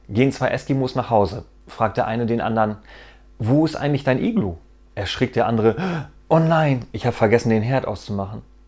Gehen zwei Eskimos nach Hause. Fragt der eine den anderen, wo ist eigentlich dein Iglu? Erschrickt der andere, oh nein, ich habe vergessen, den Herd auszumachen.